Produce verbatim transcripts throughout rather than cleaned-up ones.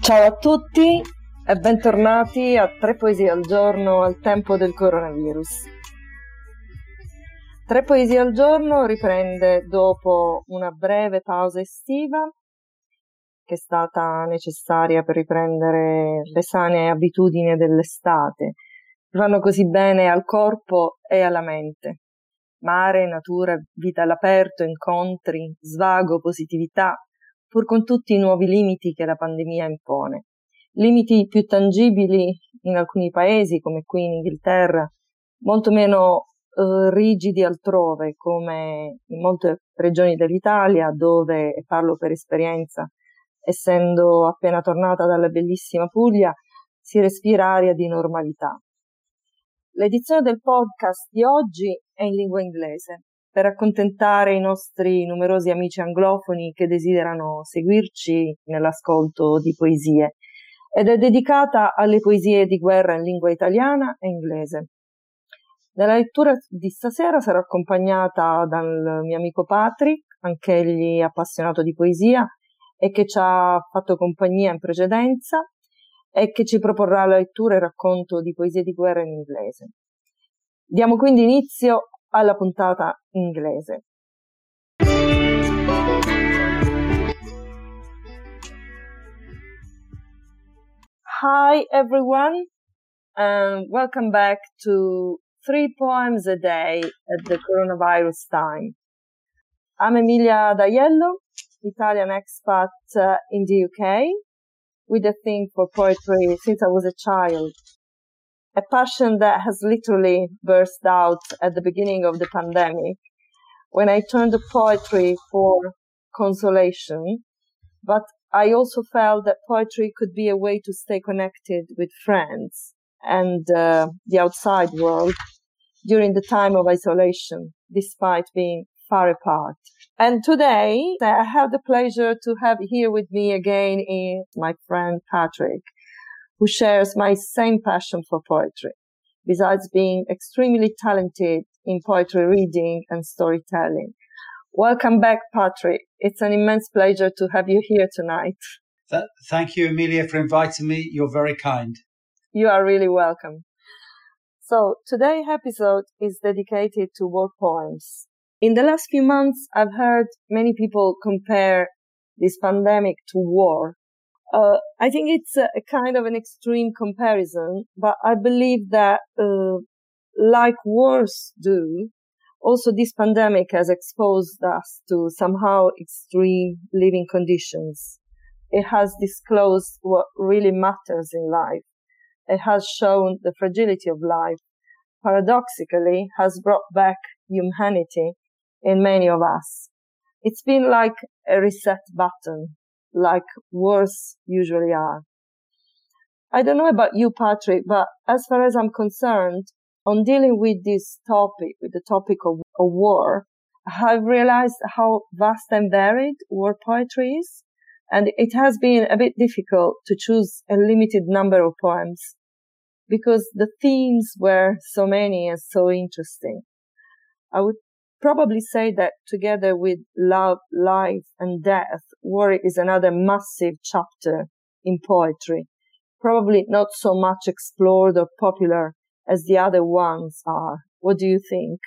Ciao a tutti e bentornati a Tre Poesie al Giorno al tempo del coronavirus. Tre Poesie al Giorno riprende dopo una breve pausa estiva che è stata necessaria per riprendere le sane abitudini dell'estate, che fanno così bene al corpo e alla mente. Mare, natura, vita all'aperto, incontri, svago, positività, pur con tutti i nuovi limiti che la pandemia impone. Limiti più tangibili in alcuni paesi, come qui in Inghilterra, molto meno eh, rigidi altrove, come in molte regioni dell'Italia, dove, e parlo per esperienza, essendo appena tornata dalla bellissima Puglia, si respira aria di normalità. L'edizione del podcast di oggi è in lingua inglese, per accontentare i nostri numerosi amici anglofoni che desiderano seguirci nell'ascolto di poesie, ed è dedicata alle poesie di guerra in lingua italiana e inglese. Nella lettura di stasera sarò accompagnata dal mio amico Patrick, anch'egli appassionato di poesia e che ci ha fatto compagnia in precedenza e che ci proporrà la lettura e il racconto di poesie di guerra in inglese. Diamo quindi inizio alla puntata inglese. Hi everyone, and welcome back to Three Poems a Day at the Coronavirus Time. I'm Emilia D'Aiello, Italian expat uh, in the U K, with a thing for poetry since I was a child. A passion that has literally burst out at the beginning of the pandemic, when I turned to poetry for consolation, but I also felt that poetry could be a way to stay connected with friends and uh, the outside world during the time of isolation, despite being far apart. And today, I have the pleasure to have here with me again is my friend Patrick, who shares my same passion for poetry, besides being extremely talented in poetry reading and storytelling. Welcome back, Patrick. It's an immense pleasure to have you here tonight. Th- thank you, Emilia, for inviting me. You're very kind. You are really welcome. So today's episode is dedicated to war poems. In the last few months, I've heard many people compare this pandemic to war. Uh, I think it's a, a kind of an extreme comparison, but I believe that, uh, like wars do, also this pandemic has exposed us to somehow extreme living conditions. It has disclosed what really matters in life. It has shown the fragility of life. Paradoxically, has brought back humanity in many of us. It's been like a reset button, like wars usually are. I don't know about you, Patrick, but as far as I'm concerned, on dealing with this topic, with the topic of, of war, I've realized how vast and varied war poetry is, and it has been a bit difficult to choose a limited number of poems, because the themes were so many and so interesting. I would probably say that together with love, life, and death, war is another massive chapter in poetry, probably not so much explored or popular as the other ones are. What do you think?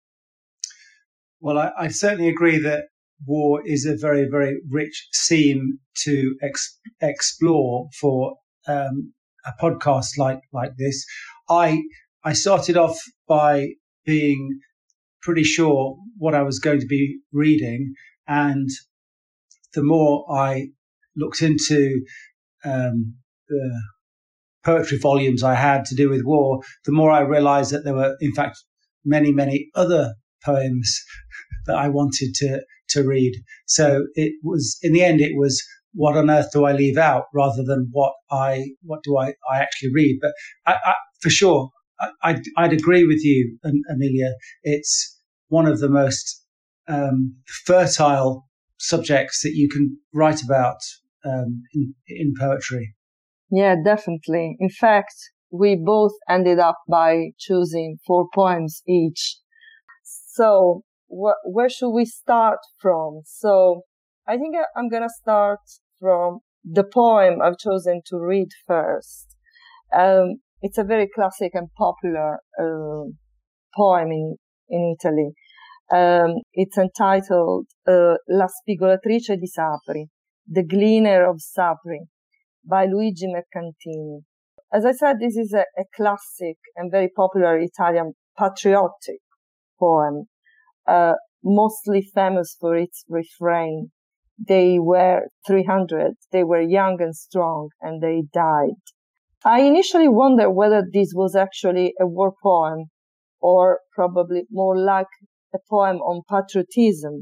Well, I, I certainly agree that war is a very, very rich theme to ex- explore for um, a podcast like like this. I I started off by being pretty sure what I was going to be reading, and the more I looked into um, the poetry volumes I had to do with war, the more I realized that there were, in fact, many, many other poems that I wanted to, to read. So it was, in the end, it was, what on earth do I leave out rather than what I, what do I, I actually read? But I, I, for sure, I, I'd, I'd agree with you, Emilia. It's one of the most um, fertile subjects that you can write about um, in, in poetry. Yeah, definitely. In fact, we both ended up by choosing four poems each. So wh- where should we start from? So I think I'm going to start from the poem I've chosen to read first. Um, it's a very classic and popular uh, poem in, in Italy. Um, it's entitled uh, La spigolatrice di Sapri, The Gleaner of Sapri, by Luigi Mercantini. As I said, this is a, a classic and very popular Italian patriotic poem, uh, mostly famous for its refrain. They were three hundred, they were young and strong, and they died. I initially wondered whether this was actually a war poem, or probably more like a poem on patriotism.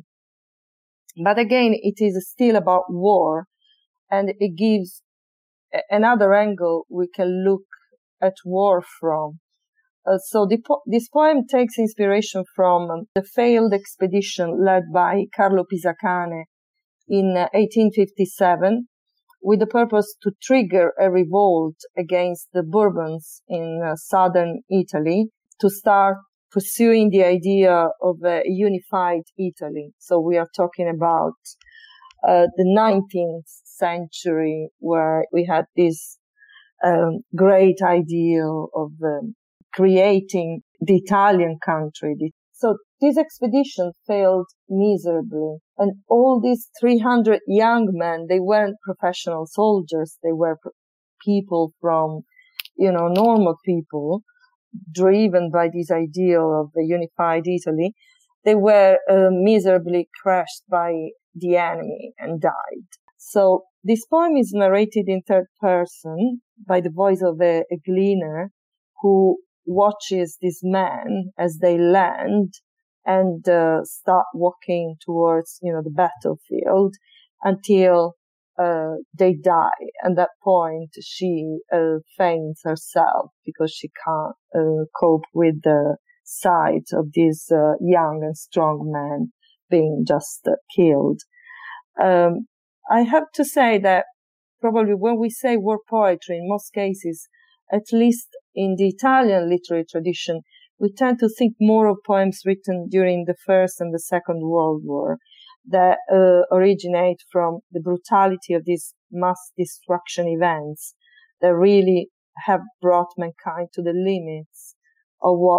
But again, it is still about war, and it gives another angle we can look at war from. Uh, so the po- this poem takes inspiration from um, the failed expedition led by Carlo Pisacane in uh, eighteen fifty-seven, with the purpose to trigger a revolt against the Bourbons in uh, southern Italy, to start pursuing the idea of a unified Italy. So we are talking about uh, the nineteenth century, where we had this um, great ideal of um, creating the Italian country. So this expedition failed miserably, and all these three hundred young men, they weren't professional soldiers, they were pro- people from, you know, normal people, driven by this ideal of a unified Italy. They were uh, miserably crushed by the enemy and died. So this poem is narrated in third person by the voice of a, a gleaner who watches these men as they land and uh, start walking towards, you know, the battlefield until uh, they die. At that point, she uh, faints herself because she can't uh, cope with the sight of these uh, young and strong men being just uh, killed. Um, I have to say that probably when we say war poetry, in most cases, at least in the Italian literary tradition, we tend to think more of poems written during the First and the Second World War that uh, originate from the brutality of these mass destruction events that really have brought mankind to the limits of what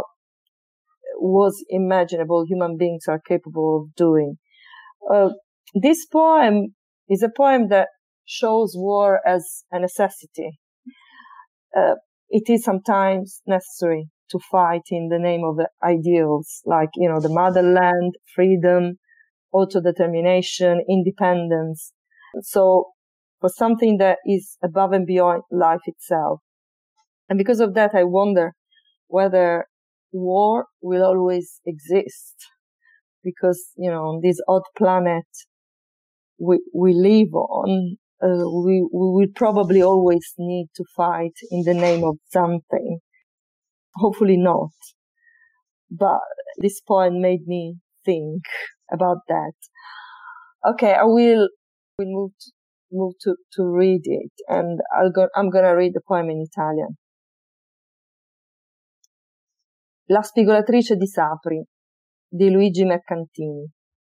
was imaginable human beings are capable of doing. Uh, this poem is a poem that shows war as a necessity. Uh, it is sometimes necessary to fight in the name of the ideals, like, you know, the motherland, freedom, autodetermination, independence. So for something that is above and beyond life itself. And because of that, I wonder whether war will always exist. Because, you know, on this odd planet we, we live on, uh, we, we will probably always need to fight in the name of something. Hopefully not. But this poem made me think about that. Okay, I will, will move to, move to, to read it, and I'll go, I'm gonna read the poem in Italian. La spigolatrice di Sapri, di Luigi Mercantini.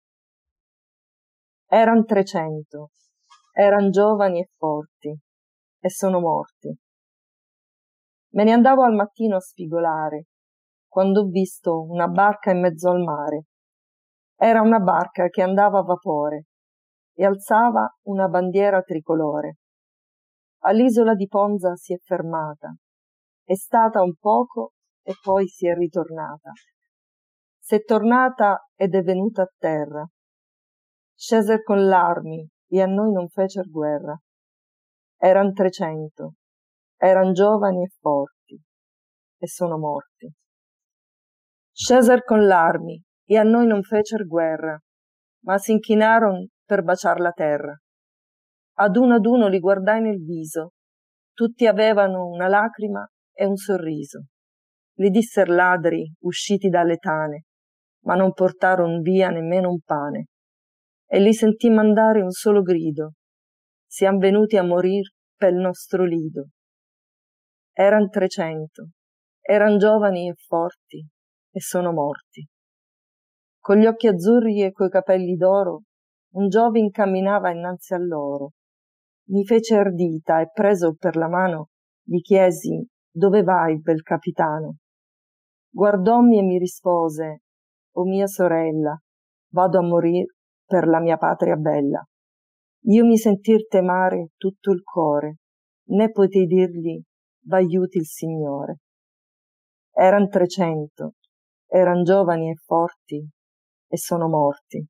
Eran trecento, eran giovani e forti, e sono morti. Me ne andavo al mattino a spigolare, quando ho visto una barca in mezzo al mare. Era una barca che andava a vapore e alzava una bandiera tricolore. All'isola di Ponza si è fermata, è stata un poco e poi si è ritornata. S'è tornata ed è venuta a terra. Sceser con l'armi e a noi non fecer guerra. Eran trecento, eran giovani e forti, e sono morti. Sceser con l'armi e a noi non fecer guerra, ma si inchinaron per baciar la terra. Ad uno ad uno li guardai nel viso, tutti avevano una lacrima e un sorriso. Li disser ladri usciti dalle tane, ma non portaron via nemmeno un pane. E li sentì mandare un solo grido: siam venuti a morir pel nostro lido. Eran trecento, eran giovani e forti, e sono morti. Con gli occhi azzurri e coi capelli d'oro, un giovin camminava innanzi a loro. mi fece ardita e preso per la mano gli chiesi: dove vai, bel capitano? Guardòmi e mi rispose: o mia sorella, vado a morir per la mia patria bella. Io mi sentir temare tutto il core, né potei dirgli: v'aiuti il Signore. Eran trecento, eran giovani e forti, e sono morti.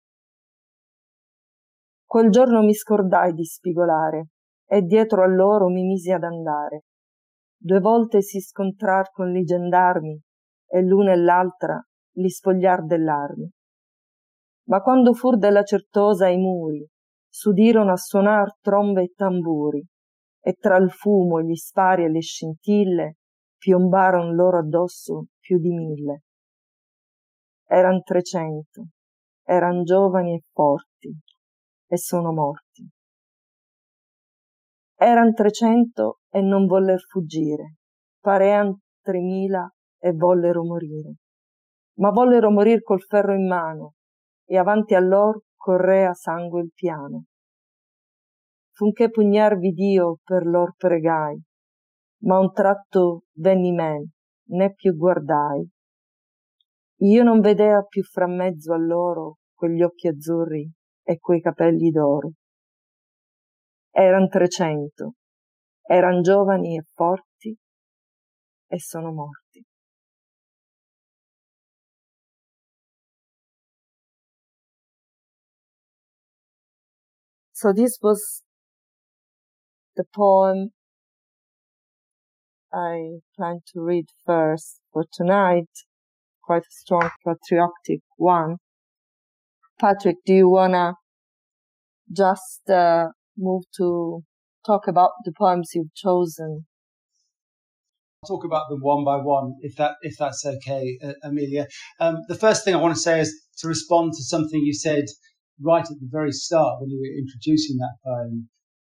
Quel giorno mi scordai di spigolare, e dietro a loro mi misi ad andare. Due volte si scontrar con li gendarmi, e l'una e l'altra li spogliar dell'armi. Ma quando fur della Certosa ai muri, s'udirono a suonar trombe e tamburi, e tra il fumo, gli spari e le scintille piombaron loro addosso più di mille. Eran trecento, eran giovani e forti, e sono morti. Eran trecento e non voller fuggire, parean tremila e vollero morire. Ma vollero morir col ferro in mano, e avanti a lor correa sangue il piano. Funché pugnar v'Iddio per lor pregai, ma un tratto venni men, né più guardai. Io non vedea più fra mezzo a loro quegli occhi azzurri e quei capelli d'oro. Eran trecento, eran giovani e forti, e sono morti. So this was the poem I plan to read first for tonight, quite a strong patriotic one. Patrick, do you wanna just uh, move to talk about the poems you've chosen? I'll talk about them one by one, if that if that's okay, uh, Amelia. Um, the first thing I want to say is to respond to something you said right at the very start when you were introducing that poem,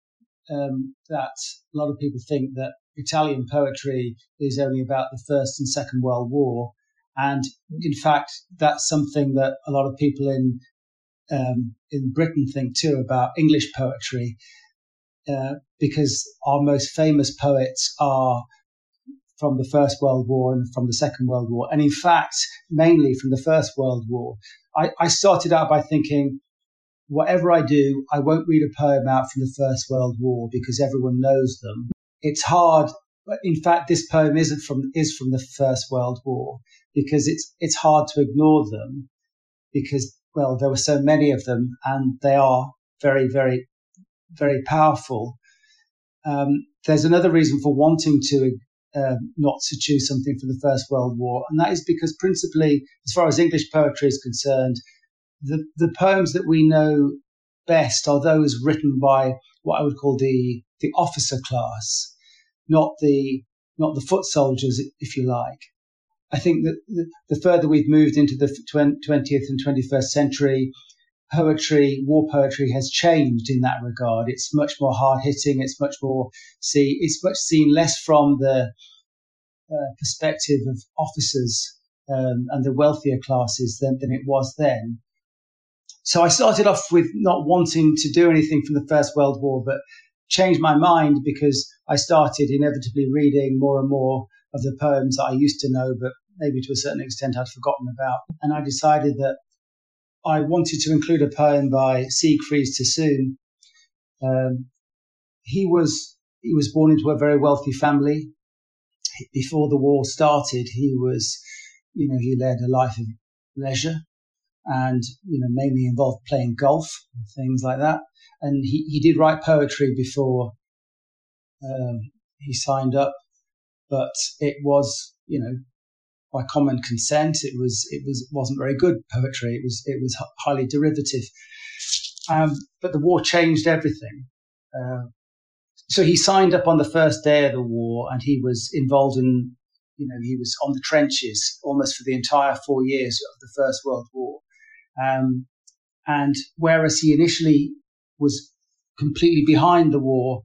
um, that a lot of people think that Italian poetry is only about the First and Second World War. And in fact, that's something that a lot of people in um, in Britain think too about English poetry, uh, because our most famous poets are from the First World War and from the Second World War. And in fact, mainly from the First World War. I, I started out by thinking, whatever I do, I won't read a poem out from the First World War because everyone knows them. It's hard. In fact, this poem isn't from is from the First World War because it's it's hard to ignore them because, well, there were so many of them and they are very, very, very powerful. Um, there's another reason for wanting to uh, not to choose something from the First World War, and that is because principally, as far as English poetry is concerned, the, the poems that we know best are those written by what I would call the, the officer class, not the not the foot soldiers, if you like. I think that the, the further we've moved into the twentieth and twenty-first century, poetry, war poetry has changed in that regard. It's much more hard hitting. It's much more see. It's much seen less from the uh, perspective of officers um, and the wealthier classes than, than it was then. So I started off with not wanting to do anything from the First World War, but changed my mind because I started inevitably reading more and more of the poems that I used to know, but maybe to a certain extent I'd forgotten about. And I decided that I wanted to include a poem by Siegfried Sassoon. Um, he was he was born into a very wealthy family. Before the war started, he was, you know, he led a life of leisure and, you know, mainly involved playing golf and things like that. And he, he did write poetry before um, he signed up, but it was, you know, by common consent, it was it was wasn't very good poetry. It was it was highly derivative. Um, but the war changed everything. Uh, so he signed up on the first day of the war, and he was involved in, you know, he was on the trenches almost for the entire four years of the First World War. Um, and whereas he initially was completely behind the war,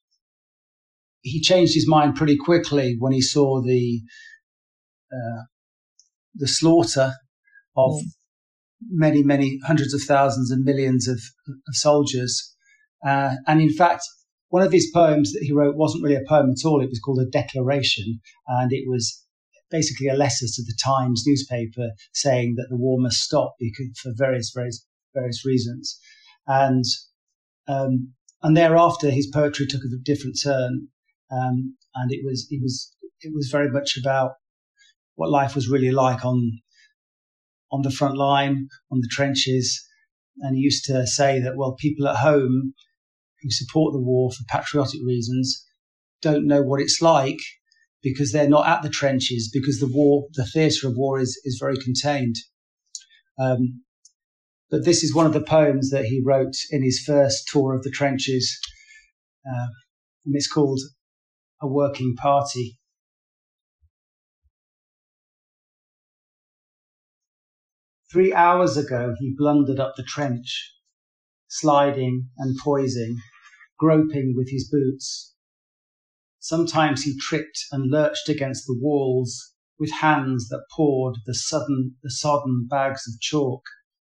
he changed his mind pretty quickly when he saw the uh, the slaughter of mm. many, many hundreds of thousands and millions of, of soldiers. Uh, and in fact, one of his poems that he wrote wasn't really a poem at all. It was called a declaration, and it was basically a letter to the Times newspaper saying that the war must stop because, for various, various, various reasons. And um, and thereafter, his poetry took a different turn, um, and it was it was it was very much about what life was really like on on the front line, on the trenches. And he used to say that, well, people at home who support the war for patriotic reasons don't know what it's like because they're not at the trenches, because the war, the theatre of war is, is very contained. Um, but this is one of the poems that he wrote in his first tour of the trenches, uh, and it's called A Working Party. Three hours ago, he blundered up the trench, sliding and poising, groping with his boots. Sometimes he tripped and lurched against the walls with hands that poured the sudden, the sodden bags of chalk.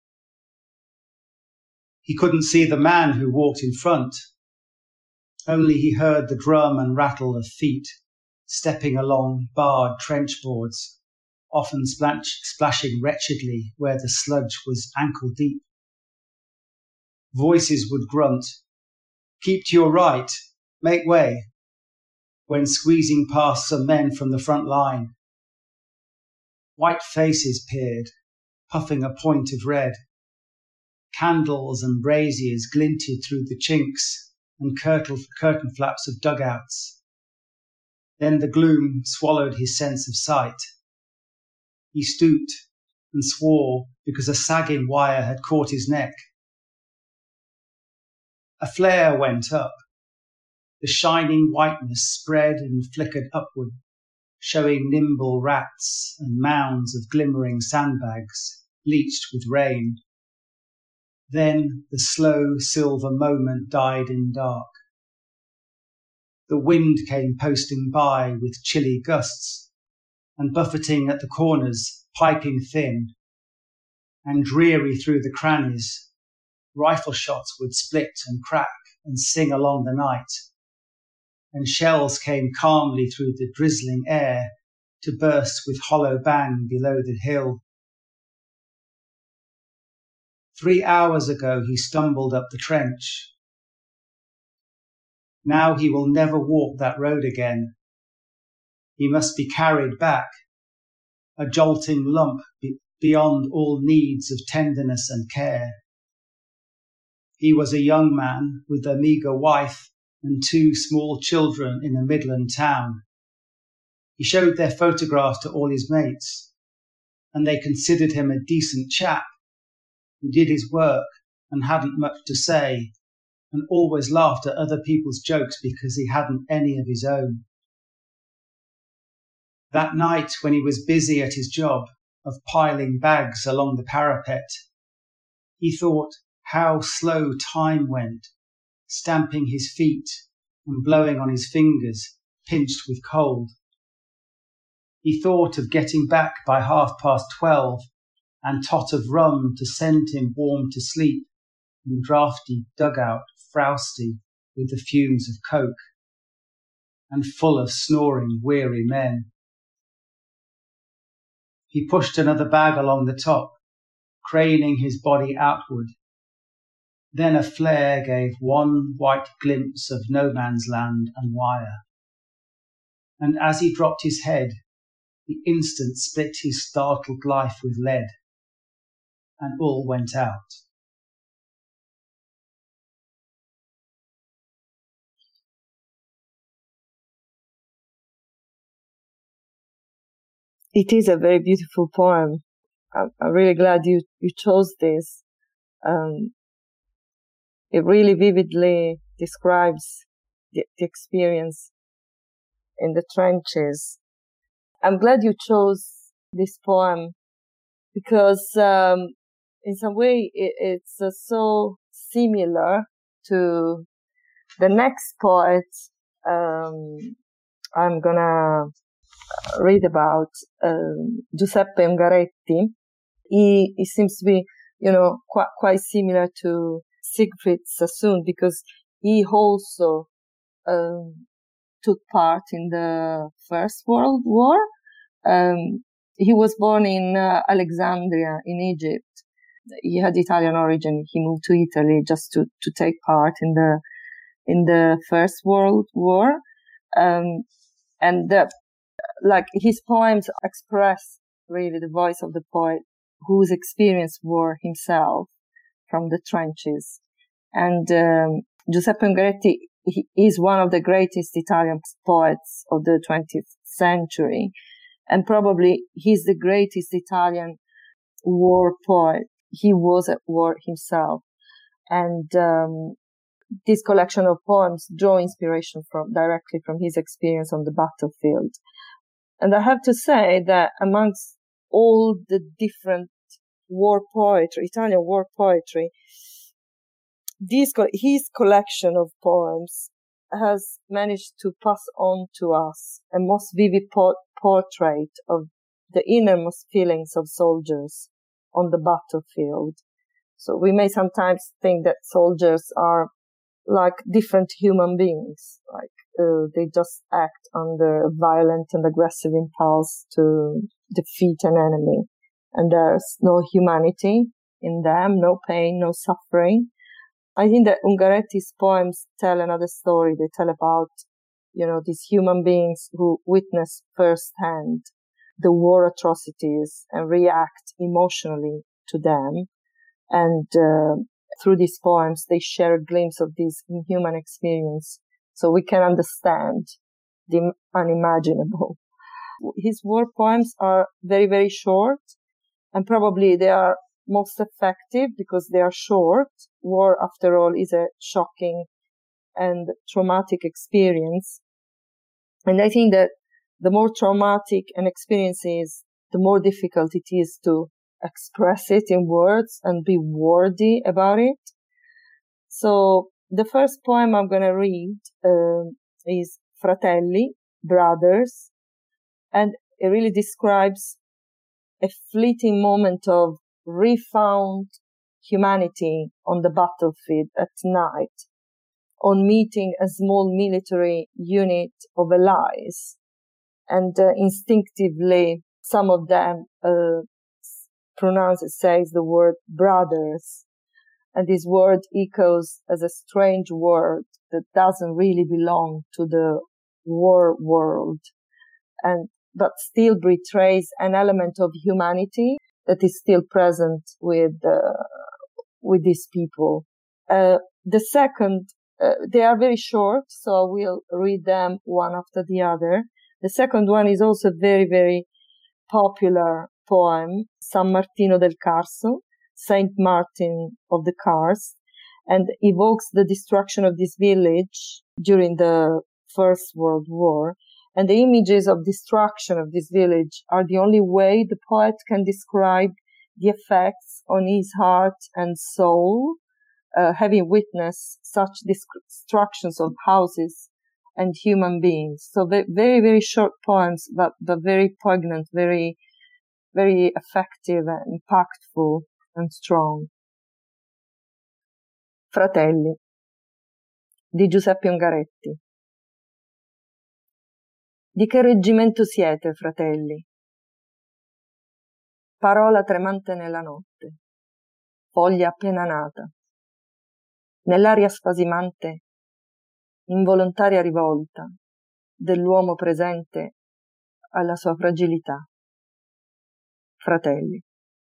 He couldn't see the man who walked in front. Only he heard the drum and rattle of feet stepping along barred trench boards, often splash, splashing wretchedly where the sludge was ankle deep. Voices would grunt, "Keep to your right, make way," when squeezing past some men from the front line. White faces peered, puffing a point of red. Candles and braziers glinted through the chinks and curtain, curtain flaps of dugouts. Then the gloom swallowed his sense of sight. He stooped and swore because a sagging wire had caught his neck. A flare went up. The shining whiteness spread and flickered upward, showing nimble rats and mounds of glimmering sandbags, bleached with rain. Then the slow silver moment died in dark. The wind came posting by with chilly gusts, and buffeting at the corners, piping thin, and dreary through the crannies, rifle shots would split and crack and sing along the night, and shells came calmly through the drizzling air to burst with hollow bang below the hill. Three hours ago he stumbled up the trench. Now he will never walk that road again. He must be carried back, a jolting lump be- beyond all needs of tenderness and care. He was a young man with a meagre wife and two small children in a Midland town. He showed their photographs to all his mates, and they considered him a decent chap who did his work and hadn't much to say, and always laughed at other people's jokes because he hadn't any of his own. That night, when he was busy at his job of piling bags along the parapet, he thought how slow time went, stamping his feet and blowing on his fingers, pinched with cold. He thought of getting back by half past twelve and tot of rum to send him warm to sleep in draughty dugout, frowsty with the fumes of coke, and full of snoring, weary men. He pushed another bag along the top, craning his body outward. Then a flare gave one white glimpse of no man's land and wire. And as he dropped his head, the instant split his startled life with lead, and all went out. It is a very beautiful poem. I'm, I'm really glad you, you chose this. Um, it really vividly describes the, the experience in the trenches. I'm glad you chose this poem because um, in some way it, it's uh, so similar to the next poet um, I'm gonna read about, um, Giuseppe Ungaretti. He, he seems to be, you know, quite, quite similar to Siegfried Sassoon because he also um, took part in the First World War. Um, he was born in uh, Alexandria in Egypt. He had Italian origin. He moved to Italy just to, to take part in the in the First World War. Um, and the, like his poems express really the voice of the poet who's experienced war himself from the trenches. And um, Giuseppe Ungaretti he is one of the greatest Italian poets of the twentieth century. And probably he's the greatest Italian war poet. He was at war himself. And um, this collection of poems draw inspiration from directly from his experience on the battlefield. And I have to say that amongst all the different war poetry, Italian war poetry, this, his collection of poems has managed to pass on to us a most vivid po- portrait of the innermost feelings of soldiers on the battlefield. So we may sometimes think that soldiers are like different human beings, like uh, they just act under a violent and aggressive impulse to defeat an enemy. And there's no humanity in them, no pain, no suffering. I think that Ungaretti's poems tell another story. They tell about, you know, these human beings who witness firsthand the war atrocities and react emotionally to them. And uh, through these poems, they share a glimpse of this inhuman experience so we can understand the unimaginable. His war poems are very, very short, and probably they are most effective because they are short. War, after all, is a shocking and traumatic experience. And I think that the more traumatic an experience is, the more difficult it is to express it in words and be worthy about it. So the first poem I'm going to read uh, is Fratelli, Brothers, and it really describes a fleeting moment of refound humanity on the battlefield at night, on meeting a small military unit of allies. And uh, instinctively, some of them uh, pronounce it, says the word brothers. And this word echoes as a strange word that doesn't really belong to the war world, and but still betrays an element of humanity that is still present with uh, with these people. Uh, the second, uh, they are very short, so I will read them one after the other. The second one is also a very, very popular poem, San Martino del Carso, Saint Martin of the Cars, and evokes the destruction of this village during the First World War. And the images of destruction of this village are the only way the poet can describe the effects on his heart and soul, uh, having witnessed such destructions of houses and human beings. So very, very short poems, but, but very poignant, very, very effective and impactful and strong. Fratelli, di Giuseppe Ungaretti. Di che reggimento siete, fratelli? Parola tremante nella notte, foglia appena nata. Nell'aria spasimante, involontaria rivolta dell'uomo presente alla sua fragilità. Fratelli.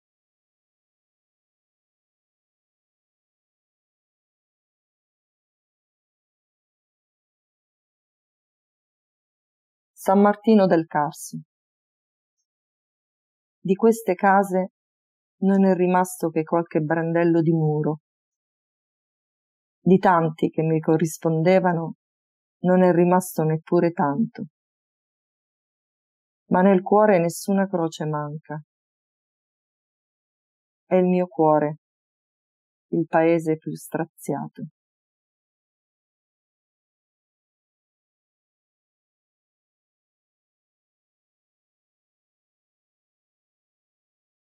San Martino del Carso. Di queste case non è rimasto che qualche brandello di muro. Di tanti che mi corrispondevano non è rimasto neppure tanto. Ma nel cuore nessuna croce manca. È il mio cuore, il paese più straziato.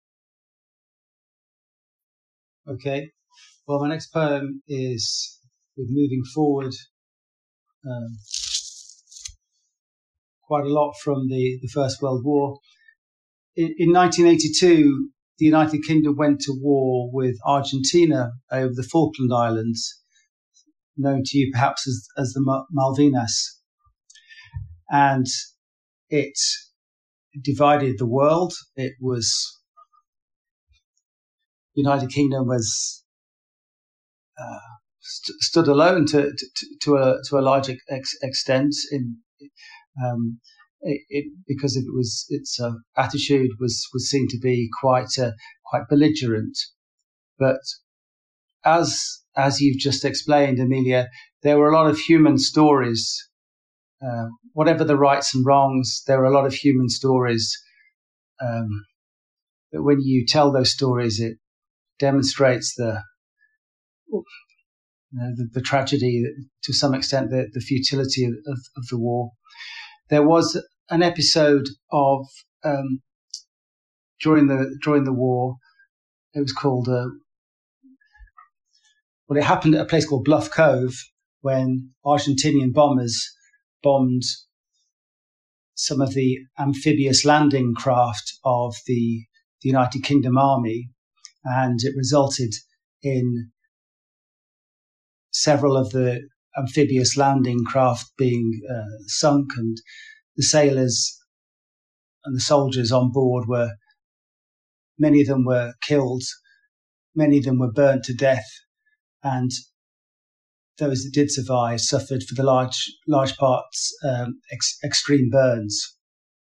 Okay, well, my next poem is with moving forward um, quite a lot from the, the First World War. In, in nineteen eighty-two, the United Kingdom went to war with Argentina over the Falkland Islands, known to you perhaps as, as the Malvinas. And it divided the world. It was, United Kingdom was uh, st- stood alone to, to, to a to a large ex- extent in um, it, it because it was its uh, attitude was was seen to be quite uh, quite belligerent. But as as you've just explained, Amelia, there were a lot of human stories. Uh, whatever the rights and wrongs, there are a lot of human stories. Um, but when you tell those stories, it demonstrates the you know, the, the tragedy, to some extent, the, the futility of, of, of the war. There was an episode of um, during the during the war. It was called uh, well, it happened at a place called Bluff Cove when Argentinian bombers bombed some of the amphibious landing craft of the, the United Kingdom Army, and it resulted in several of the amphibious landing craft being uh, sunk, and the sailors and the soldiers on board were, many of them were killed, many of them were burnt to death, and those that did survive suffered for the large large parts um, ex- extreme burns.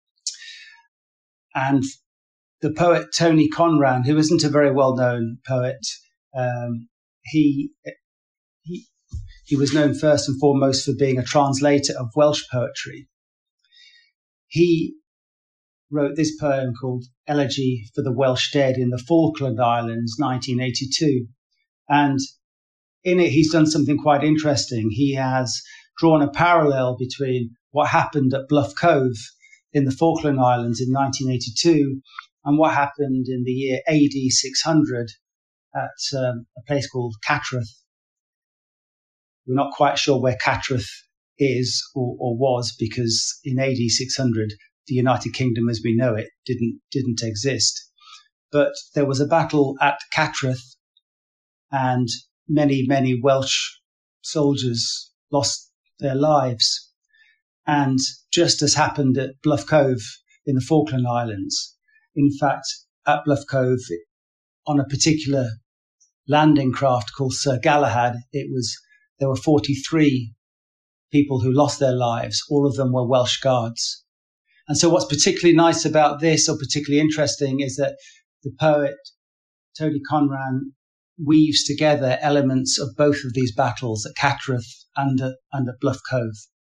And the poet Tony Conran, who isn't a very well-known poet, um, he he he was known first and foremost for being a translator of Welsh poetry. He wrote this poem called Elegy for the Welsh Dead in the Falkland Islands, nineteen eighty-two, and in it, he's done something quite interesting. He has drawn a parallel between what happened at Bluff Cove in the Falkland Islands in nineteen eighty-two and what happened in the year A D six hundred at um, a place called Cattraeth. We're not quite sure where Cattraeth is or, or was, because in A D six hundred, the United Kingdom as we know it didn't didn't exist. But there was a battle at Cattraeth, and many, many Welsh soldiers lost their lives. And just as happened at Bluff Cove in the Falkland Islands, in fact, at Bluff Cove, on a particular landing craft called Sir Galahad, it was there were forty-three people who lost their lives. All of them were Welsh guards. And so what's particularly nice about this, or particularly interesting, is that the poet Tony Conran weaves together elements of both of these battles at Cattraeth and at, and at Bluff Cove.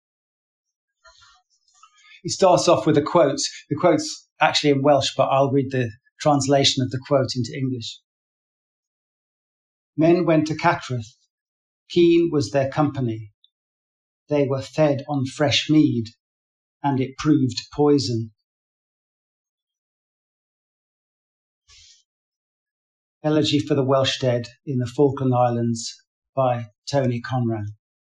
He starts off with a quote. The quote's actually in Welsh, but I'll read the translation of the quote into English. Men went to Cattraeth. Keen was their company. They were fed on fresh mead, and it proved poison. Elegy for the Welsh Dead in the Falkland Islands by Tony Conran.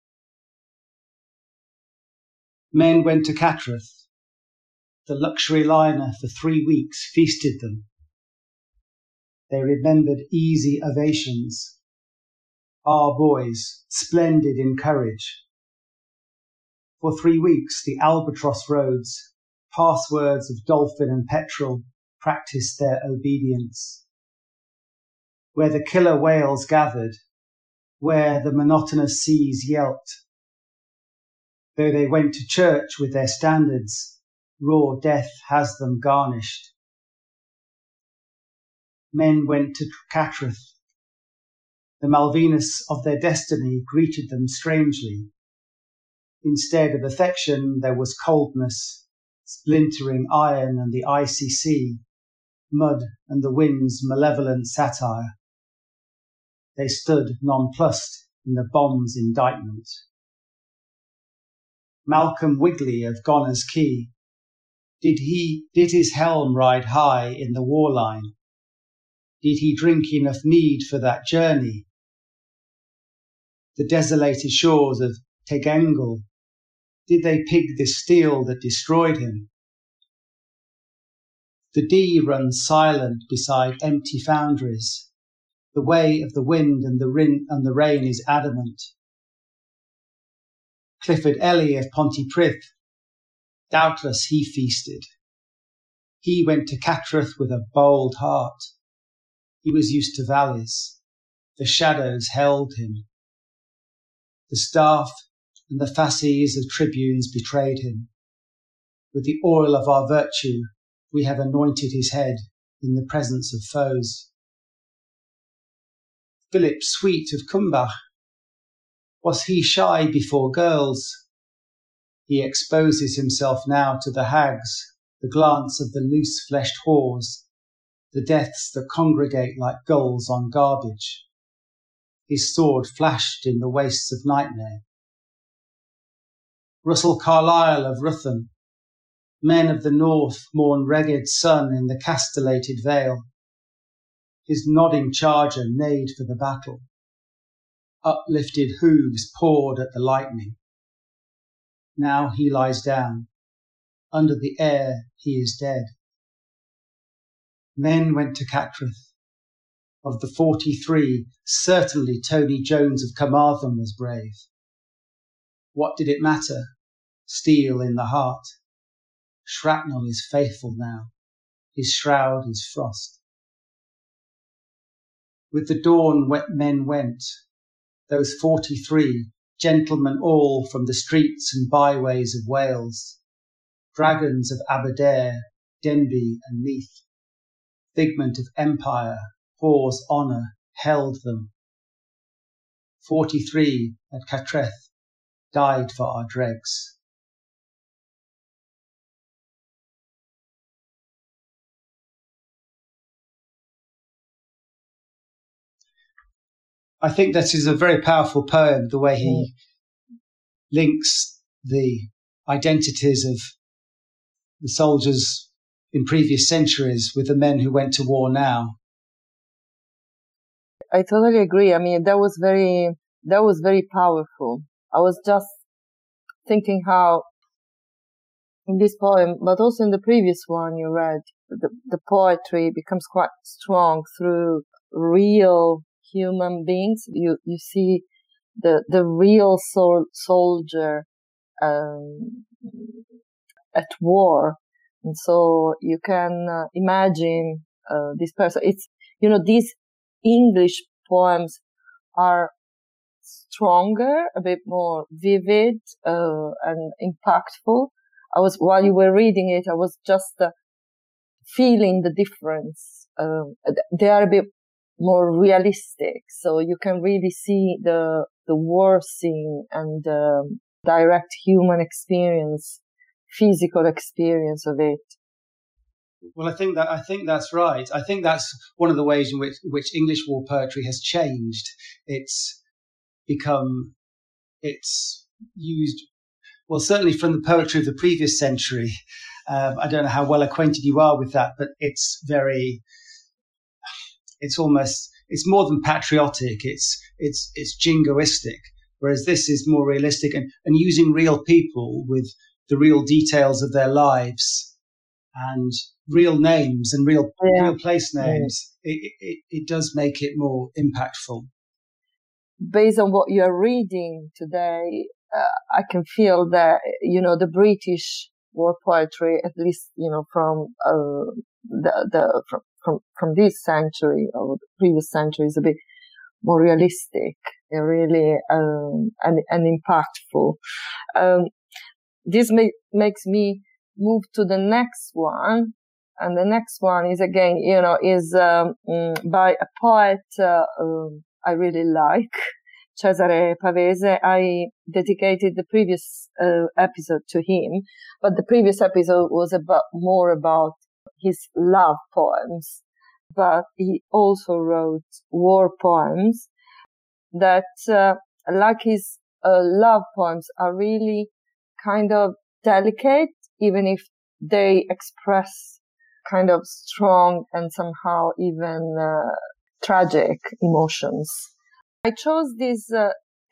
Men went to Cattraeth. The luxury liner for three weeks feasted them. They remembered easy ovations. Our boys, splendid in courage. For three weeks, the albatross roads, passwords of dolphin and petrel, practiced their obedience. Where the killer whales gathered, where the monotonous seas yelped. Though they went to church with their standards, raw death has them garnished. Men went to Cattraeth. The Malvinas of their destiny greeted them strangely. Instead of affection, there was coldness, splintering iron and the icy sea, mud and the wind's malevolent satire. They stood nonplussed in the bomb's indictment. Malcolm Wigley of Goner's Quay, did he, did his helm ride high in the war line? Did he drink enough mead for that journey? the desolated shores of Tegengel? Did they pig this steel that destroyed him? The Dee runs silent beside empty foundries. The way of the wind and the, rin- and the rain is adamant. Clifford Ellie of Pontypridd, doubtless he feasted. He went to Cattraeth with a bold heart. He was used to valleys. The shadows held him. The staff and the fasces of tribunes betrayed him. With the oil of our virtue, we have anointed his head in the presence of foes. Philip Sweet of Cumbach, was he shy before girls? He exposes himself now to the hags, the glance of the loose-fleshed whores, the deaths that congregate like gulls on garbage. His sword flashed in the wastes of nightmare. Russell Carlyle of Ruthen, men of the north mourn Reged's son in the castellated vale. His nodding charger neighed for the battle. Uplifted hooves pawed at the lightning. Now he lies down. Under the air he is dead. Men went to Cattraeth. Of the forty-three, certainly Tony Jones of Carmarthen was brave. What did it matter? Steel in the heart. Shrapnel is faithful now. His shroud is frost. With the dawn men went, those forty-three, gentlemen all from the streets and byways of Wales, dragons of Aberdare, Denbigh and Meath, figment of empire, whore's honour, held them. Forty-three at Cattraeth died for our dregs. I think that is a very powerful poem, the way he links the identities of the soldiers in previous centuries with the men who went to war now. I totally agree. I mean, that was very, that was very powerful. I was just thinking how in this poem, but also in the previous one you read, the, the poetry becomes quite strong through real human beings. You, you see the, the real sol- soldier, um, at war. And so you can uh, imagine, uh, this person. It's, you know, these English poems are stronger, a bit more vivid, uh, and impactful. I was, while you were reading it, I was just uh, feeling the difference. Um, they are a bit more realistic, so you can really see the the war scene and um, direct human experience, physical experience of it. Well, I think that I think that's right. I think that's one of the ways in which which English war poetry has changed. It's become, it's used, well, certainly from the poetry of the previous century. Um, I don't know how well acquainted you are with that, but it's very, it's almost, it's more than patriotic. It's, it's, it's jingoistic. Whereas this is more realistic and, and using real people with the real details of their lives and real names and real, yeah. real place names. Yeah. It, it, it does make it more impactful. Based on what you're reading today, uh, I can feel that, you know, the British war poetry, at least, you know, from, uh, the, the, from, from, from this century or the previous century is a bit more realistic and really, um, and, and impactful. Um, this ma- makes me move to the next one. And the next one is again, you know, is, um, by a poet, uh, um, I really like, Cesare Pavese. I dedicated the previous uh, episode to him, but the previous episode was about more about his love poems. But he also wrote war poems that, uh, like his uh, love poems, are really kind of delicate, even if they express kind of strong and somehow even uh, tragic emotions. I chose this uh,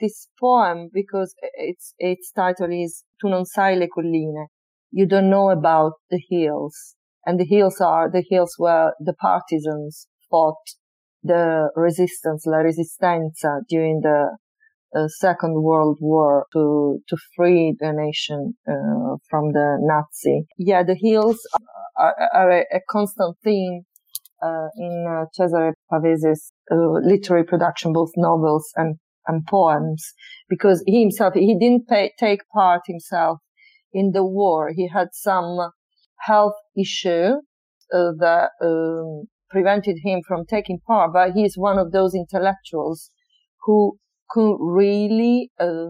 this poem because its its title is Tu non sai le colline. You don't know about the hills. And the hills are the hills where the partisans fought the resistance, la resistenza, during the uh, Second World War to to free the nation uh, from the Nazi. Yeah, the hills are, are a, a constant theme uh, in uh, Cesare Pavese's uh, literary production, both novels and and poems, because he himself he didn't pay, take part himself in the war. He had some health issue uh, that um, prevented him from taking part, but he is one of those intellectuals who could really uh,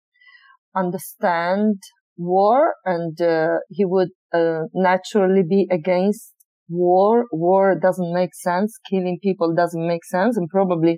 understand war, and uh, he would uh, naturally be against war. War doesn't make sense. Killing people doesn't make sense, and probably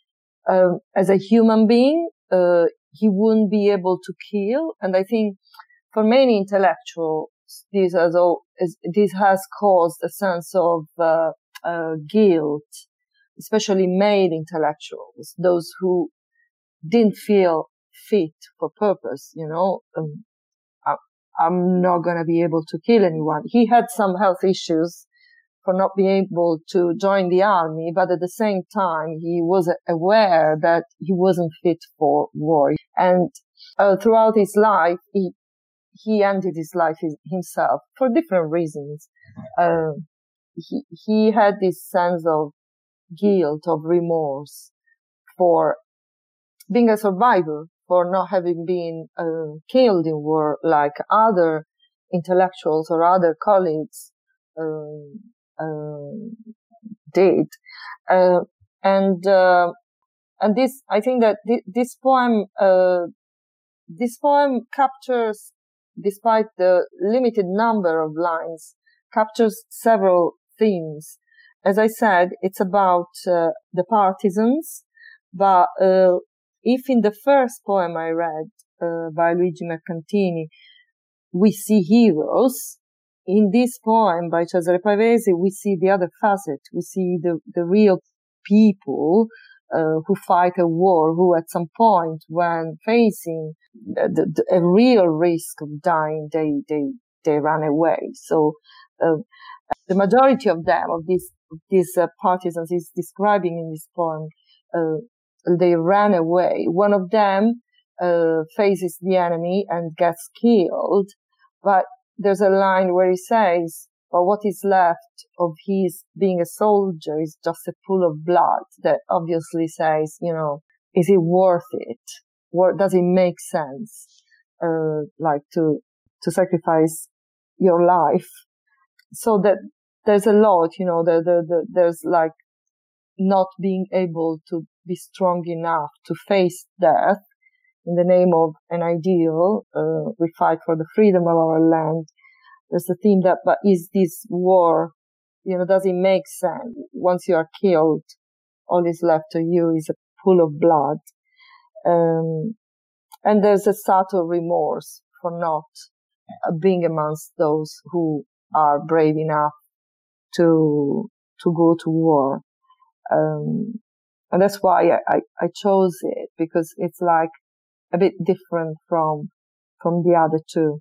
uh, as a human being, uh, he wouldn't be able to kill. And I think for many intellectuals, this has all, this has caused a sense of uh, uh, guilt, especially male intellectuals, those who didn't feel fit for purpose. You know, um, I, I'm not going to be able to kill anyone. He had some health issues for not being able to join the army, but at the same time, he was aware that he wasn't fit for war. And uh, throughout his life, he he ended his life himself for different reasons. Uh, he he had this sense of guilt, of remorse for being a survivor, for not having been uh, killed in war like other intellectuals or other colleagues um, um, did. Uh, and uh, and this, I think that th- this poem, uh, this poem captures, despite the limited number of lines, captures several themes. As I said, it's about uh, the partisans, but uh, if in the first poem I read uh, by Luigi Mercantini, we see heroes, in this poem by Cesare Pavese, we see the other facet. We see the, the real people uh, who fight a war, who at some point, when facing the, the, a real risk of dying, they, they, they run away. So, uh, the majority of them, of these, these uh, partisans is describing in this poem, uh, they ran away. One of them, uh, faces the enemy and gets killed, but there's a line where he says, well, what is left of his being a soldier is just a pool of blood, that obviously says, you know, is it worth it? Or does it make sense, uh, like to, to sacrifice your life? So that there's a lot, you know, the, the, the, there's like not being able to be strong enough to face death in the name of an ideal. Uh, we fight for the freedom of our land. There's the theme that, but is this war, you know, does it make sense? Once you are killed, all is left of you is a pool of blood. Um, and there's a subtle remorse for not uh, being amongst those who are brave enough to, to go to war. Um, and that's why I, I, I chose it, because it's like a bit different from, from the other two.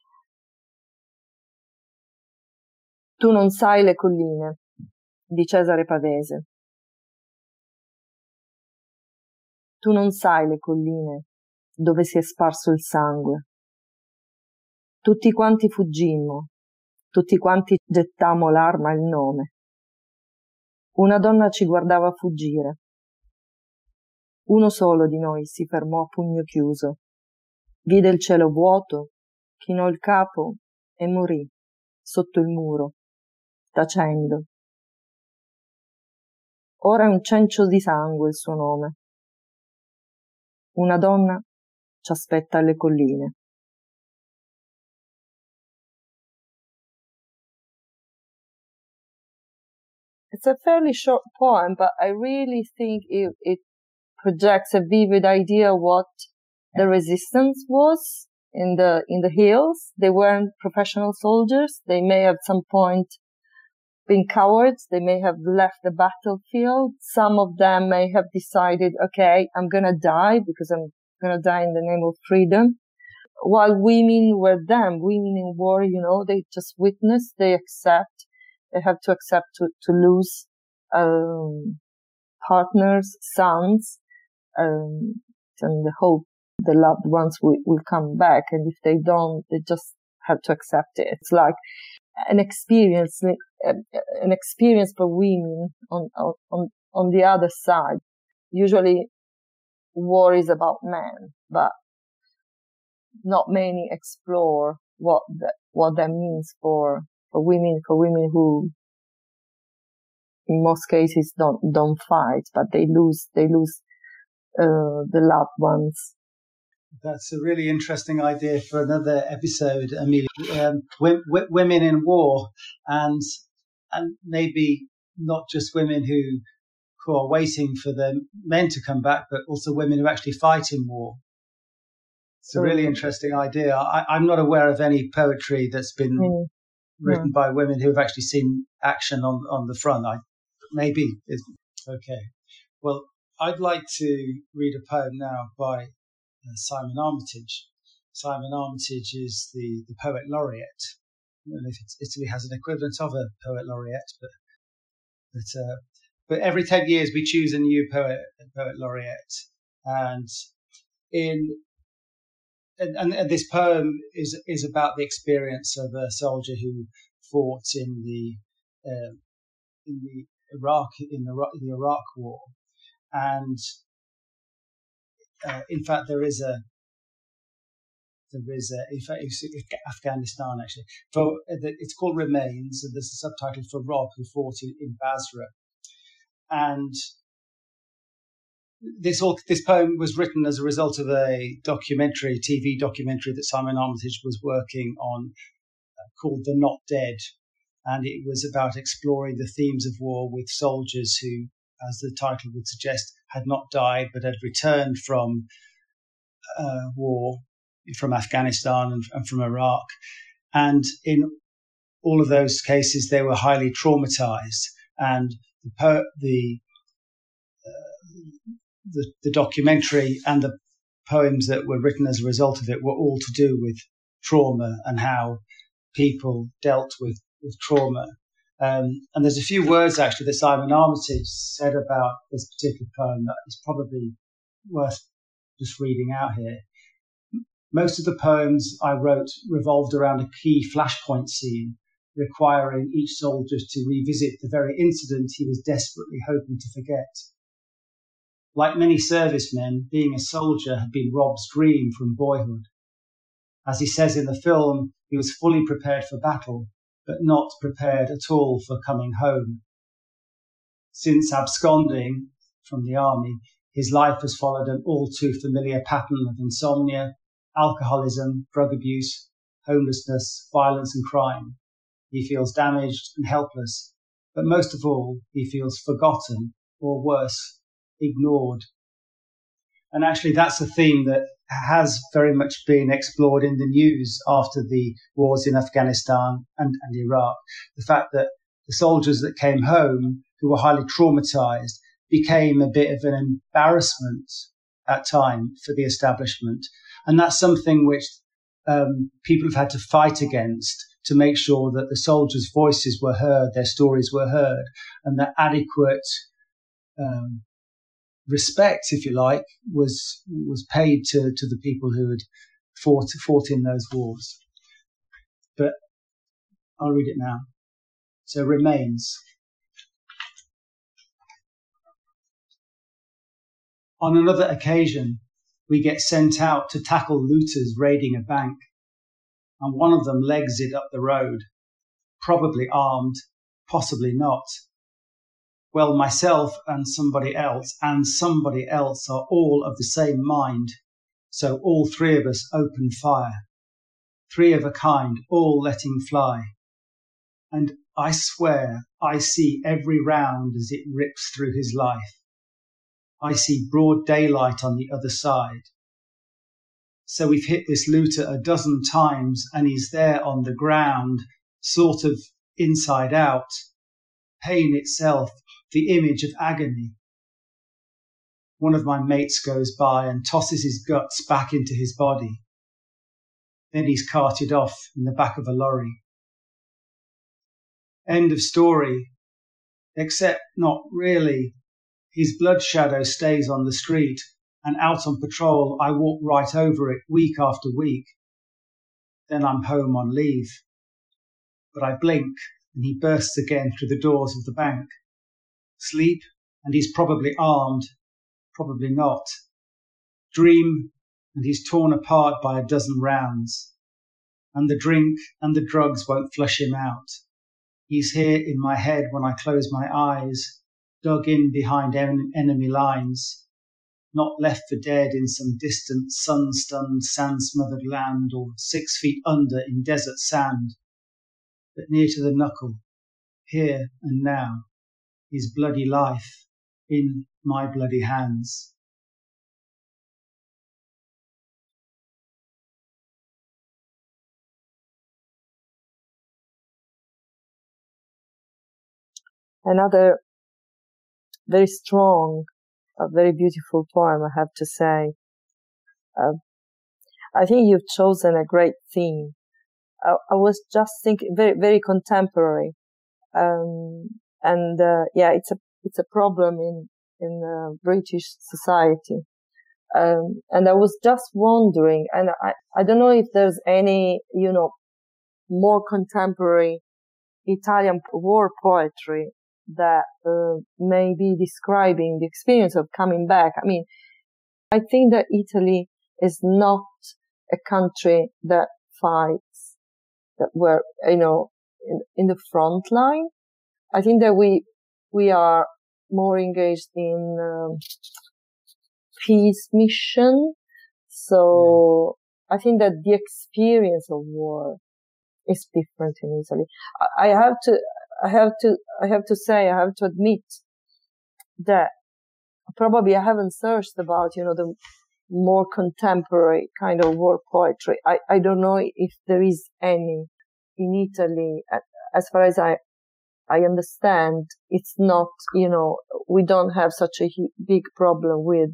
Tu non sai le colline, di Cesare Pavese. Tu non sai le colline dove si è sparso il sangue. Tutti quanti fuggimmo, tutti quanti gettammo l'arma e il nome. Una donna ci guardava fuggire. Uno solo di noi si fermò a pugno chiuso. Vide il cielo vuoto, chinò il capo e morì sotto il muro, tacendo. Ora è un cencio di sangue il suo nome. Una donna ci aspetta alle colline. It's a fairly short poem, but I really think it, it projects a vivid idea of what the resistance was in the, in the hills. They weren't professional soldiers. They may have at some point been cowards. They may have left the battlefield. Some of them may have decided, okay, I'm gonna die because I'm gonna die in the name of freedom. While women were them, women in war, you know, they just witness, they accept, they have to accept to, to lose, um, partners, sons, um, and they hope the loved ones will, will come back. And if they don't, they just have to accept it. It's like an experience, an experience for women on, on, on the other side. Usually war is about men, but not many explore what that, what that means for, for women, for women who in most cases don't, don't fight, but they lose, they lose, uh, the loved ones. That's a really interesting idea for another episode, Amelia. Um, w- w- women in war, and and maybe not just women who who are waiting for their men to come back, but also women who actually fight in war. It's a really interesting idea. I, I'm not aware of any poetry that's been mm. written yeah. by women who have actually seen action on, on the front. I, maybe. It's, okay. Well, I'd like to read a poem now by uh, Simon Armitage. Simon Armitage is the, the poet laureate. I don't know if it's, Italy has an equivalent of a poet laureate, but but, uh, but every ten years we choose a new poet poet laureate. And in And, and this poem is is about the experience of a soldier who fought in the uh, in the Iraq in the, the Iraq War, and uh, in fact there is a there is a in fact it's Afghanistan actually. For it's called Remains, and there's a subtitle for Rob, who fought in, in Basra, and. This all, this poem was written as a result of a documentary, T V documentary that Simon Armitage was working on uh, called The Not Dead. And it was about exploring the themes of war with soldiers who, as the title would suggest, had not died but had returned from uh, war, from Afghanistan and, and from Iraq. And in all of those cases, they were highly traumatized. And the, po- the The, the documentary and the poems that were written as a result of it were all to do with trauma and how people dealt with, with trauma. Um, and there's a few words actually that Simon Armitage said about this particular poem that is probably worth just reading out here. Most of the poems I wrote revolved around a key flashpoint scene, requiring each soldier to revisit the very incident he was desperately hoping to forget. Like many servicemen, being a soldier had been Rob's dream from boyhood. As he says in the film, he was fully prepared for battle, but not prepared at all for coming home. Since absconding from the army, his life has followed an all too familiar pattern of insomnia, alcoholism, drug abuse, homelessness, violence and crime. He feels damaged and helpless, but most of all, he feels forgotten, or worse, ignored. And actually that's a theme that has very much been explored in the news after the wars in Afghanistan and, and Iraq. The fact that the soldiers that came home who were highly traumatized became a bit of an embarrassment at time for the establishment. And that's something which um, people have had to fight against to make sure that the soldiers' voices were heard, their stories were heard, and that adequate um, respect, if you like, was was paid to, to the people who had fought fought in those wars. But I'll read it now. So Remains. On another occasion, we get sent out to tackle looters raiding a bank, and one of them legs it up the road, probably armed, possibly not. Well, myself and somebody else and somebody else are all of the same mind. So all three of us open fire. Three of a kind, all letting fly. And I swear I see every round as it rips through his life. I see broad daylight on the other side. So we've hit this looter a dozen times and he's there on the ground, sort of inside out. Pain itself, the image of agony. one of my mates goes by and tosses his guts back into his body. Then he's carted off in the back of a lorry. End of story. Except not really. His blood shadow stays on the street, and out on patrol I walk right over it week after week. Then I'm home on leave. But I blink, and he bursts again through the doors of the bank. Sleep, and he's probably armed, probably not. Dream, and he's torn apart by a dozen rounds. And the drink and the drugs won't flush him out. He's here in my head when I close my eyes, dug in behind en- enemy lines, not left for dead in some distant sun-stunned, sand-smothered land or six feet under in desert sand, but near to the knuckle, here and now, his bloody life in my bloody hands. Another very strong, a very beautiful poem, I have to say. Uh, I think you've chosen a great theme. I, I was just thinking, very, very contemporary. Um, and, uh, yeah, it's a, it's a problem in, in, uh, British society. Um, and I was just wondering, and I, I don't know if there's any, you know, more contemporary Italian war poetry that uh, may be describing the experience of coming back. I mean, I think that Italy is not a country that fights, that we're, you know, in, in the front line. I think that we, we are more engaged in um, peace mission. So yeah. I think that the experience of war is different in Italy. I, I have to, I have to, I have to say, I have to admit that probably I haven't searched about, you know, the more contemporary kind of war poetry. I, I don't know if there is any in Italy. As far as I, I understand, it's not, you know, we don't have such a big problem with,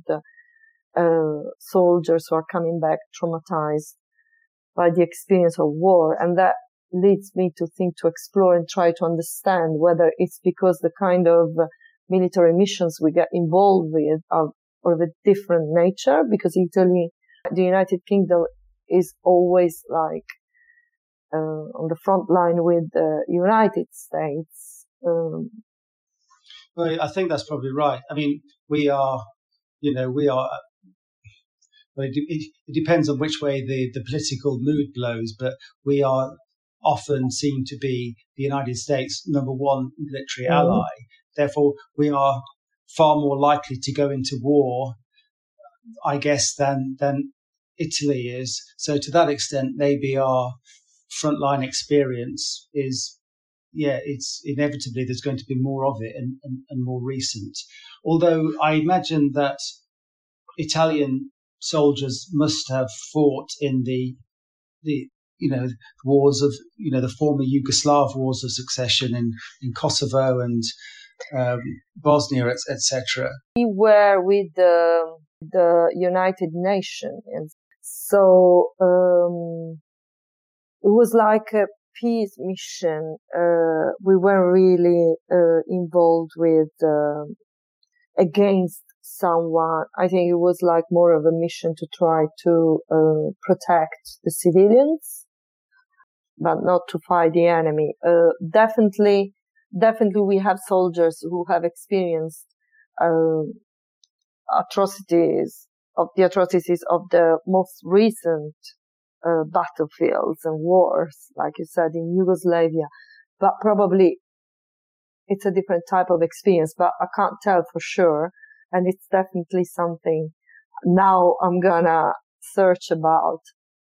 uh, soldiers who are coming back traumatized by the experience of war. And that leads me to think, to explore and try to understand whether it's because the kind of military missions we get involved with are of a different nature, because Italy, the United Kingdom is always like, uh, on the front line with the United States. Um, well, I think that's probably right. I mean, we are, you know, we are, well, it, it, it depends on which way the, the political mood blows, but we are often seen to be the United States' number one military mm. ally. Therefore, we are far more likely to go into war, I guess, than than Italy is. So to that extent, maybe our frontline experience is, yeah, it's inevitably there's going to be more of it and, and, and more recent. Although I imagine that Italian soldiers must have fought in the the you know wars of you know the former Yugoslav wars of succession in, in Kosovo and um, Bosnia, et cetera. We were with the the United Nations, and so um, it was like a peace mission. Uh, we weren't really uh, involved with uh, against someone. I think it was like more of a mission to try to uh, protect the civilians, but not to fight the enemy. Uh, definitely, definitely we have soldiers who have experienced uh, atrocities of the atrocities of the most recent uh, battlefields and wars, like you said, in Yugoslavia. But probably it's a different type of experience, but I can't tell for sure. And it's definitely something now I'm gonna search about.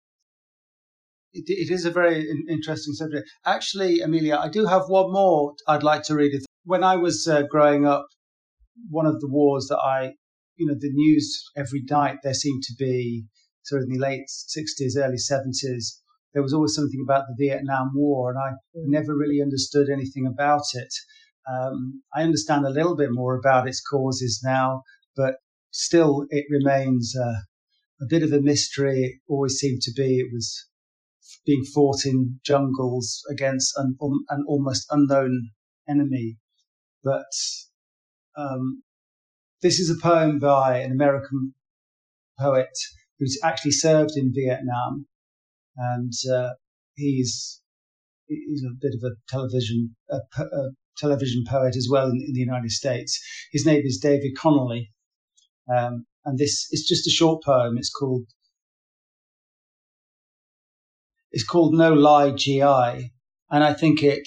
It, it is a very interesting subject. Actually, Amelia, I do have one more I'd like to read. When I was uh, growing up, one of the wars that I, you know, the news every night, there seemed to be, sort of in the late sixties, early seventies, there was always something about the Vietnam War, and I never really understood anything about it. Um, I understand a little bit more about its causes now, but still it remains uh, a bit of a mystery. It always seemed to be. It was being fought in jungles against an, um, an almost unknown enemy. But um, this is a poem by an American poet who's actually served in Vietnam, and uh, he's he's a bit of a television a, a television poet as well in, in the United States. His name is David Connolly, um, and this is just a short poem. It's called it's called No Lie G I, and I think it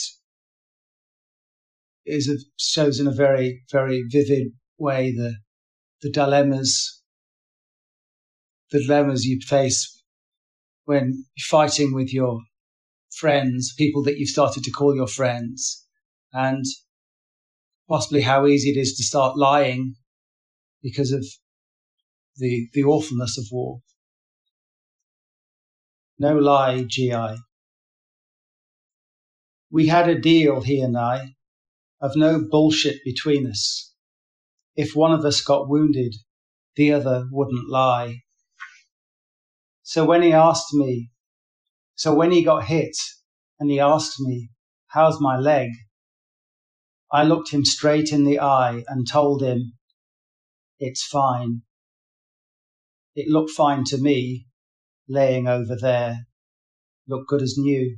is a, shows in a very very vivid way the the dilemmas the dilemmas you face when you're fighting with your friends, people that you've started to call your friends, and possibly how easy it is to start lying because of the the awfulness of war. No lie, G I. We had a deal, he and I, of no bullshit between us. If one of us got wounded, the other wouldn't lie. So when he asked me, so when he got hit and he asked me, how's my leg? I looked him straight in the eye and told him, it's fine. It looked fine to me, laying over there, looked good as new.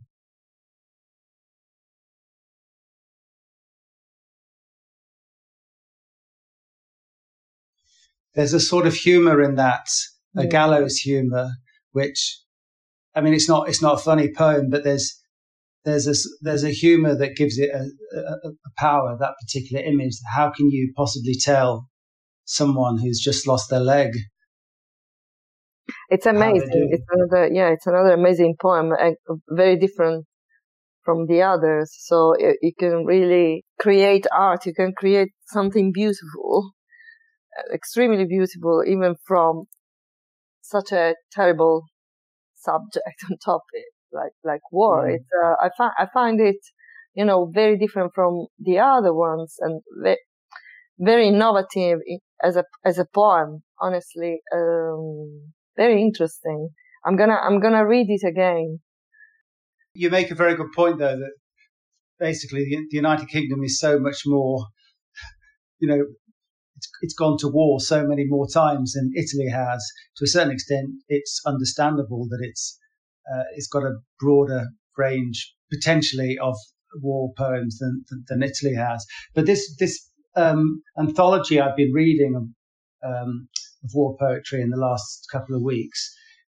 There's a sort of humour in that, a yeah. gallows humour, which, I mean, it's not it's not a funny poem, but there's there's a there's a humour that gives it a, a, a power. That particular image. How can you possibly tell someone who's just lost their leg? It's amazing. It's another yeah, it's another amazing poem, very different from the others. So you can really create art. You can create something beautiful. Extremely beautiful, even from such a terrible subject and topic like like war. Mm. It's uh, I find I find it, you know, very different from the other ones and ve- very innovative as a as a poem. Honestly, um, very interesting. I'm gonna I'm gonna read it again. You make a very good point, though, that basically the, the United Kingdom is so much more, you know. It's, it's gone to war so many more times than Italy has. To a certain extent, it's understandable that it's uh, it's got a broader range potentially of war poems than than, than Italy has. But this this um, anthology I've been reading of, um, of war poetry in the last couple of weeks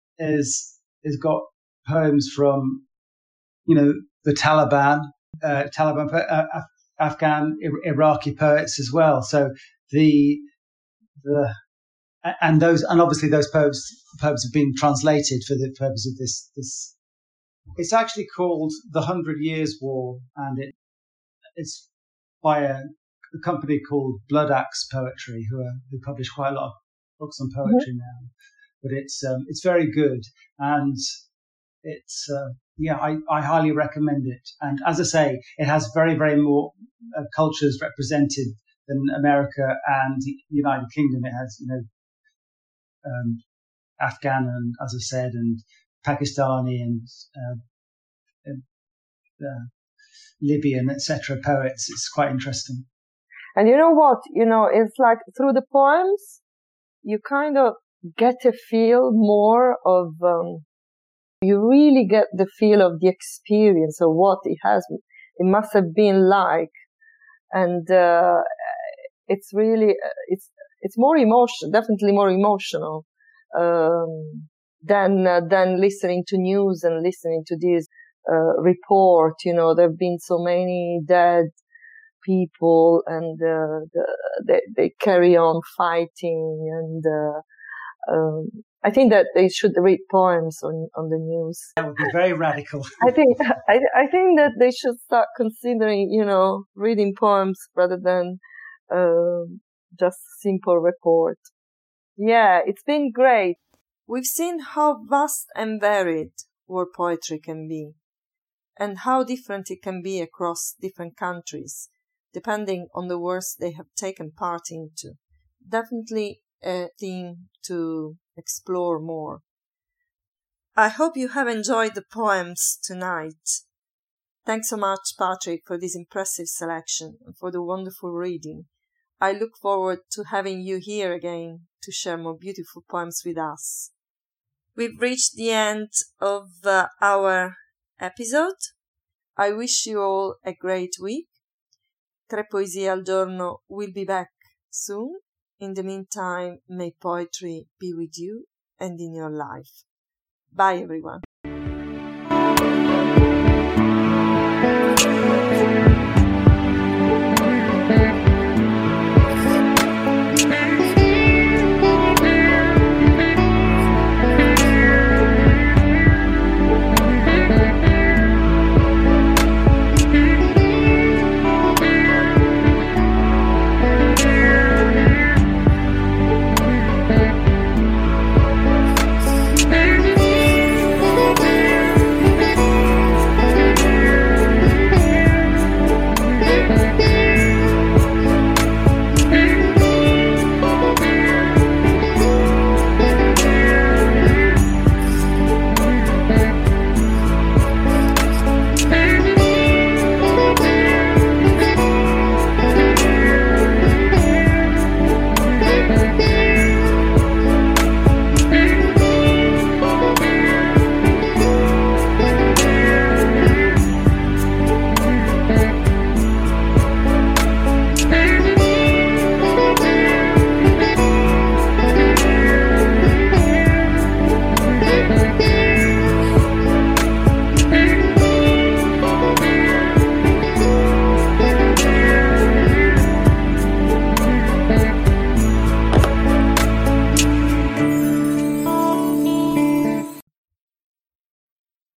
is has got poems from, you know, the Taliban, uh, Taliban, uh, Afghan, Iraqi poets as well. So. The, the, and those, and obviously those poems, poems have been translated for the purpose of this, this. It's actually called The Hundred Years' War, and it, it's by a, a company called Blood Axe Poetry, who are, who publish quite a lot of books on poetry mm-hmm. now. But it's, um, it's very good. And it's, uh, yeah, I, I highly recommend it. And as I say, it has very, very more uh, cultures represented than America and the United Kingdom. It has, you know, um, Afghan and, as I said, and Pakistani and, uh, and uh, Libyan, et cetera poets. It's quite interesting. And you know what? You know, it's like through the poems, you kind of get a feel more of, um, you really get the feel of the experience of what it has, it must have been like. And, uh, it's really, it's, it's more emotional, definitely more emotional, um, than, uh, than listening to news and listening to this, uh, report. You know, there have been so many dead people and, uh, the, they, they carry on fighting. And, uh, um, I think that they should read poems on, on the news. That would be very radical. I think, I, I think that they should start considering, you know, reading poems rather than, Uh, just simple report. Yeah, it's been great. We've seen how vast and varied war poetry can be, and how different it can be across different countries, depending on the wars they have taken part into. Definitely a theme to explore more. I hope you have enjoyed the poems tonight. Thanks so much, Patrick, for this impressive selection and for the wonderful reading. I look forward to having you here again to share more beautiful poems with us. We've reached the end of uh, our episode. I wish you all a great week. Tre Poesie al Giorno will be back soon. In the meantime, may poetry be with you and in your life. Bye, everyone.